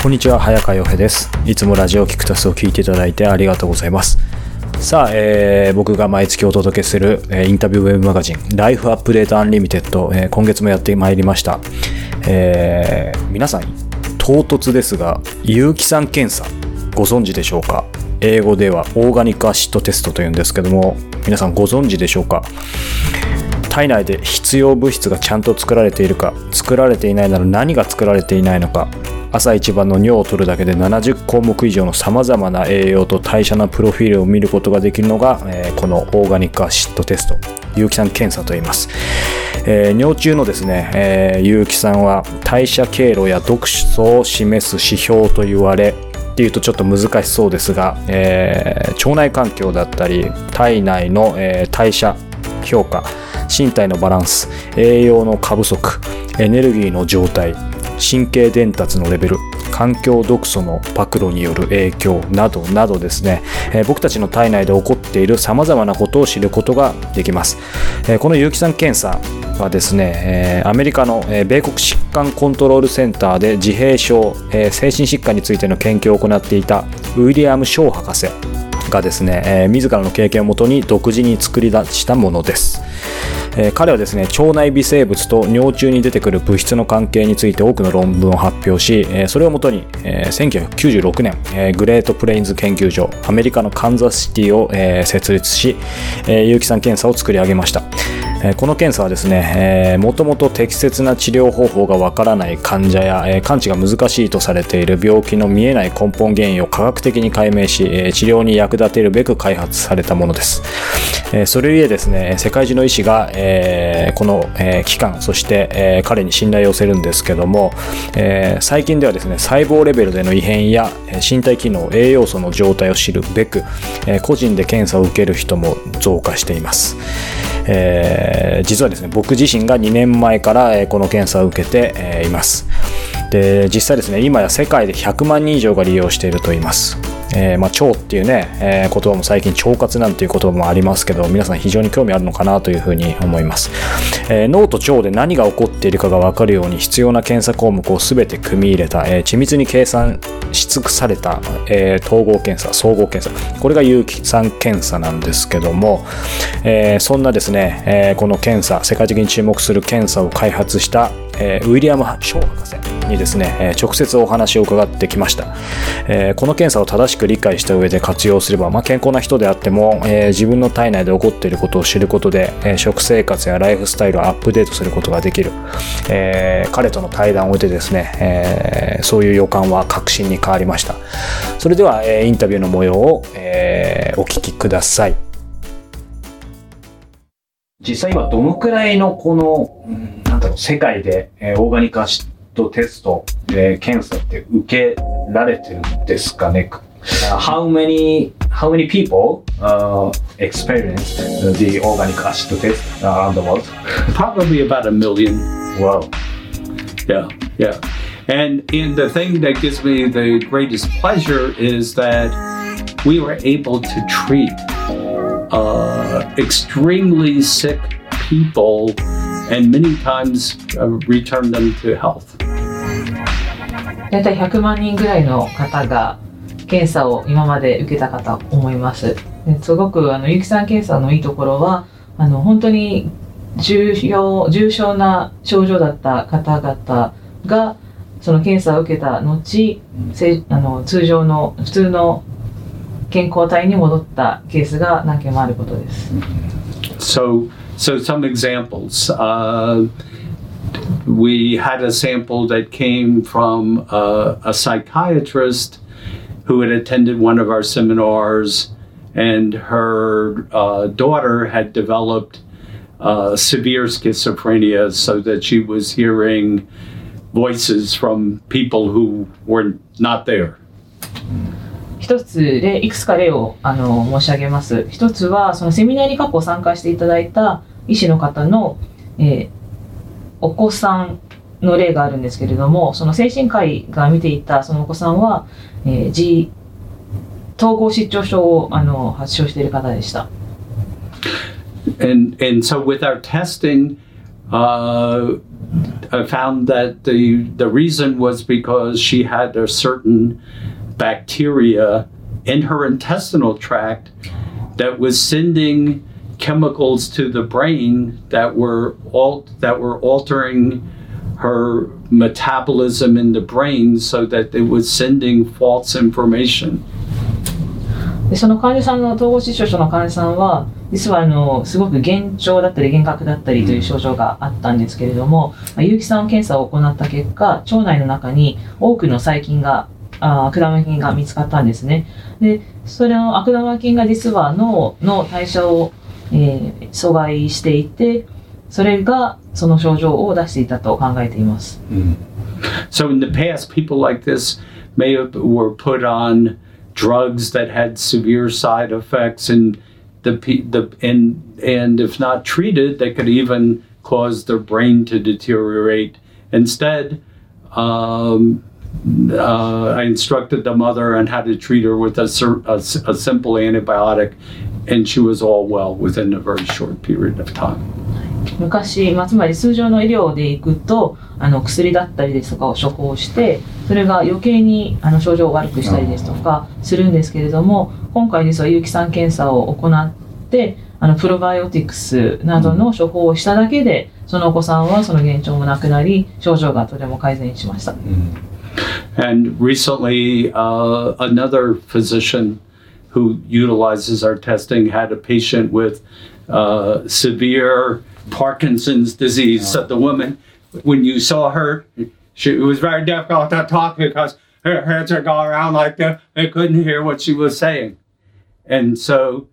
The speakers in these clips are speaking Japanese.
こんにちは、早川洋平です。いつもラジオキクタスを聞いていただいてありがとうございます。さあ、僕が毎月お届けする、インタビューウェブマガジンライフアップデートアンリミテッド、今月もやってまいりました。皆さん唐突ですが、有機酸検査ご存知でしょうか？英語ではオーガニックアシッドテストというんですけども、皆さんご存知でしょうか？体内で必要物質がちゃんと作られているか、作られていないなら何が作られていないのか、朝一番の尿を取るだけで70項目以上のさまざまな栄養と代謝のプロフィールを見ることができるのが、このオーガニックアシッドテスト、有機酸検査と言います。尿中のですね、有機酸は代謝経路や毒素を示す指標と言われっていうとちょっと難しそうですが、腸内環境だったり体内の、代謝評価、身体のバランス、栄養の過不足、エネルギーの状態、神経伝達のレベル、環境毒素の暴露による影響などなどですね、僕たちの体内で起こっている様々なことを知ることができます。この有機酸検査はですね、アメリカの米国疾患コントロールセンターで自閉症、精神疾患についての研究を行っていたウィリアム・ショー博士がですね、自らの経験をもとに独自に作り出したものです。彼はですね、腸内微生物と尿中に出てくる物質の関係について多くの論文を発表し、それをもとに、1996年、グレートプレインズ研究所、アメリカのカンザスシティを、設立し、有機酸検査を作り上げました。この検査はですね、もともと適切な治療方法がわからない患者や、完治が難しいとされている病気の見えない根本原因を科学的に解明し、治療に役立てるべく開発されたものです。それゆえですね、世界中の医師が、この、機関、そして、彼に信頼を寄せるんですけども、最近ではですね、細胞レベルでの異変や身体機能、栄養素の状態を知るべく、個人で検査を受ける人も増加しています。実はですね、僕自身が2年前から、この検査を受けて、います。で、実際ですね、今や世界で100万人以上が利用していると言います。腸っていうね、言葉も最近腸活なんていう言葉もありますけど、皆さん非常に興味あるのかなというふうに思います。脳と腸で何が起こっているかが分かるように必要な検査項目を全て組み入れた、緻密に計算し尽くされた、統合検査、総合検査、これが有機酸検査なんですけども、そんなですね、この検査、世界的に注目する検査を開発したウィリアム・ショー博士にですね、直接お話を伺ってきました。この検査を正しく理解した上で活用すれば、健康な人であっても、自分の体内で起こっていることを知ることで、食生活やライフスタイルをアップデートすることができる。彼との対談を終えてですね、そういう予感は確信に変わりました。それでは、インタビューの模様を、お聞きください。実際今どのくらいのこの世界でオーガニックアシッドテスト検査って受けられてるんですかね？How many people experience the organic acid test around the world? Probably about 1 million. Wow. Yeah. And the thing that gives me the greatest pleasure is that we were able to treat extremely sick people and many times return them to health. だいたい100万人ぐらいの方が検査を今まで受けたかと思います。すごく有機酸検査のいいところは本当に重症な症状だった方々がその検査を受けた後、通常の普通の健康体に戻ったケースが何件もあることです。 So some examples. We had a sample that came from a psychiatrist who had attended one of our seminars, and her daughter had developed severe schizophrenia, so that she was hearing voices from people who were not there. 一つでいくつか例を申し上げます。一つはそのセミナーに過去参加していただいた医師の方の、お子さんの例があるんですけれども、その精神科医が見ていたそのお子さんは、統合失調症を発症している方でした。 And so with our testing, I found that the reason was because she had a certain bacteria in her intestinal tract that was sending chemicals to the brain that were altering her metabolism in the brain so that it was sending false information. でその患者さんの統合失調症の患者さんは実はすごく幻聴だったり幻覚だったりという症状があったんですけれども、結城さん検査を行った結果腸内の中に多くの細菌が悪玉菌が見つかったんですね。でそれの悪玉菌が実は脳の代謝を、阻害していてそれがその症状を出していたと考えています。 So in the past, people like this were put on drugs that had severe side effects, and and if not treated, they could even cause their brain to deteriorate. Instead, I instructed the mother on how to treat her with a simple antibiotic, and she was all well within a very short period of time. 昔、つまり通常の医療でいくと薬だったりですとかを処方してそれが余計に症状を悪くしたりですとかするんですけれども、今回実は結城さん検査を行ってプロバイオティクスなどの処方をしただけでそのお子さんはその幻聴もなくなり症状がとても改善しました。 And recently, another physician who utilizes our testing had a patient with severe Parkinson's disease. So the woman, when you saw her, it was very difficult to talk because her heads are going around like that. They couldn't hear what she was saying. And so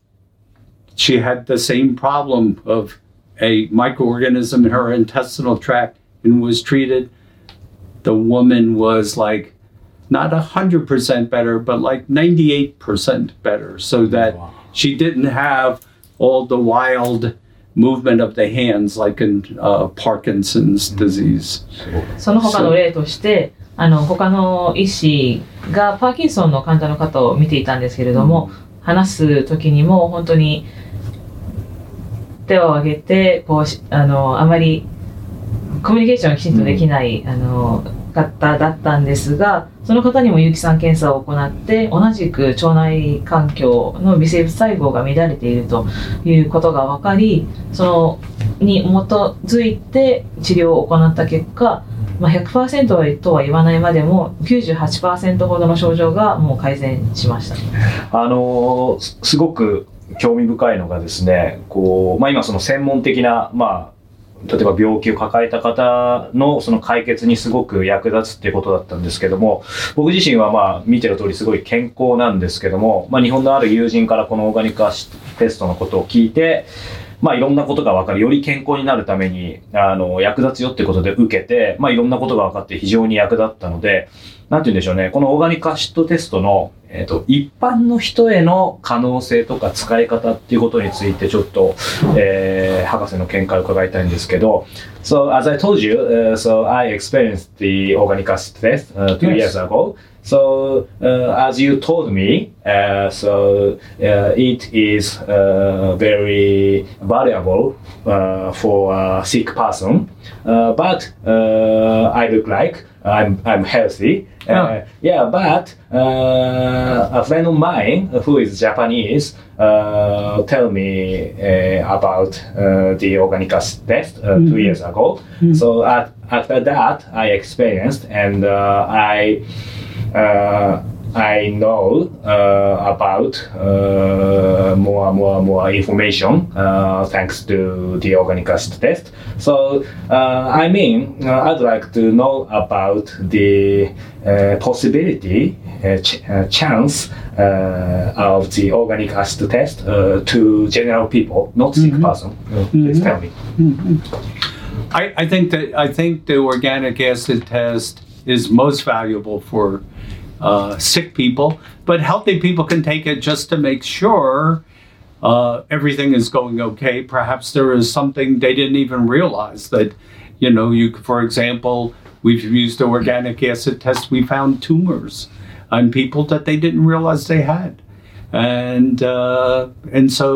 she had the same problem of a microorganism in her intestinal tract and was treated. The woman was like not 100% better, but like 98% better, so that she didn't have all the wild movement of the hands like in Parkinson's disease. その他の例として他の医師がパーキンソンの患者の方を見ていたんですけれども、話す時にも本当に手を挙げてあまりコミュニケーションがきちんとできない方だったんですが、その方にも結城さん検査を行って同じく腸内環境の微生物細胞が乱れているということが分かり、そのに基づいて治療を行った結果、100% とは言わないまでも 98% ほどの症状がもう改善しました。 すごく興味深いのがですね、今その専門的な例えば病気を抱えた方のその解決にすごく役立つっていうことだったんですけども、僕自身は見てる通りすごい健康なんですけども、日本のある友人からこのオーガニックアシステストのことを聞いて、いろんなことが分かる、より健康になるために役立つよってことで受けて、いろんなことが分かって非常に役立ったので、なんて言うんでしょうね、このオーガニックアシッドテストの、一般の人への可能性とか使い方っていうことについてちょっと、博士の見解を伺いたいんですけど。So as I told you, so I experienced the organic acid test 2 years ago. So as you told me, it is very valuable for a sick person. But I look like I'm healthy. But a friend of mine who is Japanese tell me about the organic acid test 2 years ago. So after that, I experienced and I know about more information thanks to the organic acid test. So I'd like to know about the possibility, chance of the organic acid test to general people, not sick person. Please tell me. I think the organic acid test is most valuable for sick people, but healthy people can take it just to make sure everything is going okay. Perhaps there is something they didn't even realize that, for example, we've used the organic acid test. We found tumors on people that they didn't realize they had. And so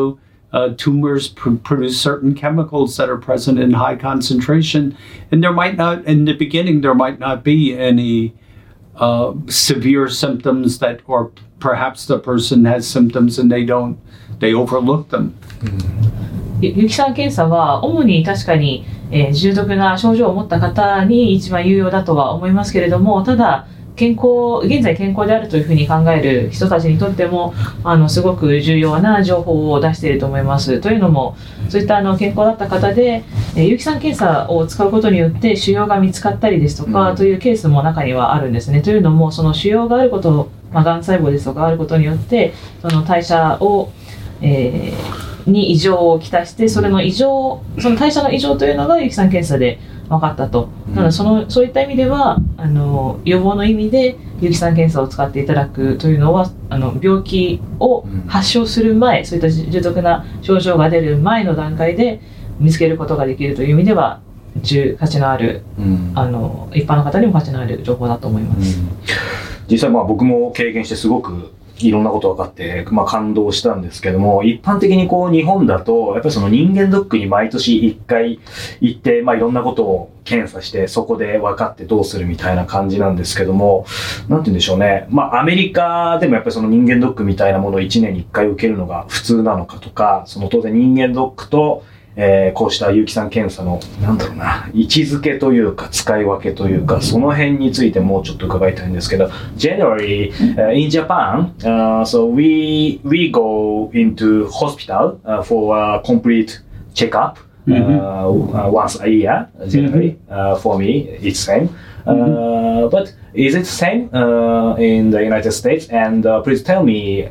tumors produce certain chemicals that are present in high concentration, and there might not, in the beginning, there might not be any severe symptoms that, or perhaps the person has symptoms and they overlook them. 有機酸検査は主に確かに、重篤な症状を持った方に一番有用だとは思いますけれども、ただ現在健康であるというふうに考える人たちにとってもすごく重要な情報を出していると思います。というのも、そういった健康だった方で、有機酸検査を使うことによって腫瘍が見つかったりですとか、というケースも中にはあるんですね。というのも、その腫瘍があること、がん細胞ですとかあることによって、その代謝を、に異常をきたして、その代謝の異常というのが有機酸検査で分かったと。ただそういった意味では予防の意味で有機酸検査を使っていただくというのは病気を発症する前、そういった重篤な症状が出る前の段階で見つけることができるという意味では価値のある、一般の方にも価値のある情報だと思います。 実際僕も経験してすごくいろんなこと分かって、感動したんですけども、一般的に日本だと、やっぱりその人間ドックに毎年1回行って、いろんなことを検査して、そこで分かってどうするみたいな感じなんですけども、なんて言うんでしょうね。アメリカでもやっぱりその人間ドックみたいなものを1年に1回受けるのが普通なのかとか、その当然人間ドックと、こうした有機酸検査の、位置づけというか、使い分けというか、その辺についてもうちょっと伺いたいんですけど、generally, in Japan, so we go into hospital for a complete checkup, once a year, generally. For me, it's same. But is it same in the United States? And please tell me,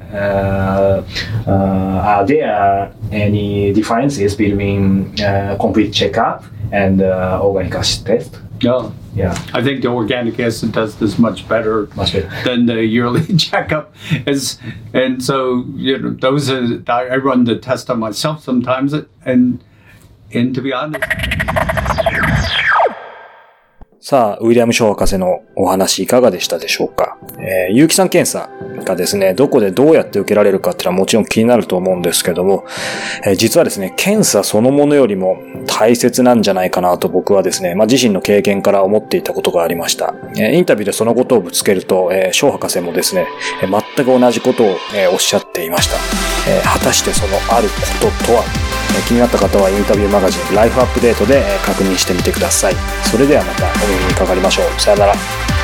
are there any differences between complete checkup and organic acid test? No. Yeah. I think the organic acid test is much better than the yearly checkup. And so, those are, I run the test on myself sometimes, and to be honest. さあ、ウィリアム・ショー博士のお話いかがでしたでしょうか。有機酸検査がですね、どこでどうやって受けられるかっていうのはもちろん気になると思うんですけども、実はですね、検査そのものよりも大切なんじゃないかなと僕はですね、自身の経験から思っていたことがありました。インタビューでそのことをぶつけると、ショー博士もですね、全く同じことをおっしゃっていました。果たしてそのあることとは、気になった方はインタビューマガジンライフアップデートで確認してみてください。それではまたお耳にかかりましょう。さよなら。